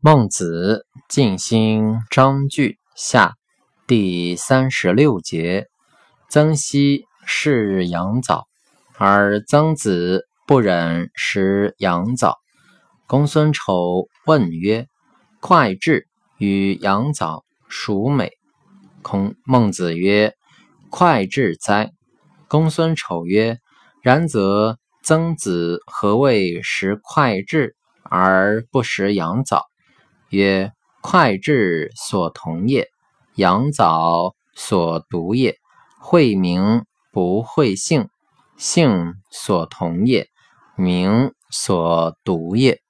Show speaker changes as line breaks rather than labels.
孟子尽心章句下第36节，曾皙是羊枣，而曾子不忍食羊枣。公孙丑问曰：脍炙与羊枣孰美？孟子曰：脍炙哉！公孙丑曰：然则曾子何谓食脍炙而不食羊枣？曰：脍炙所同也，羊枣所独也。会名不会姓，姓所同也，名所独也。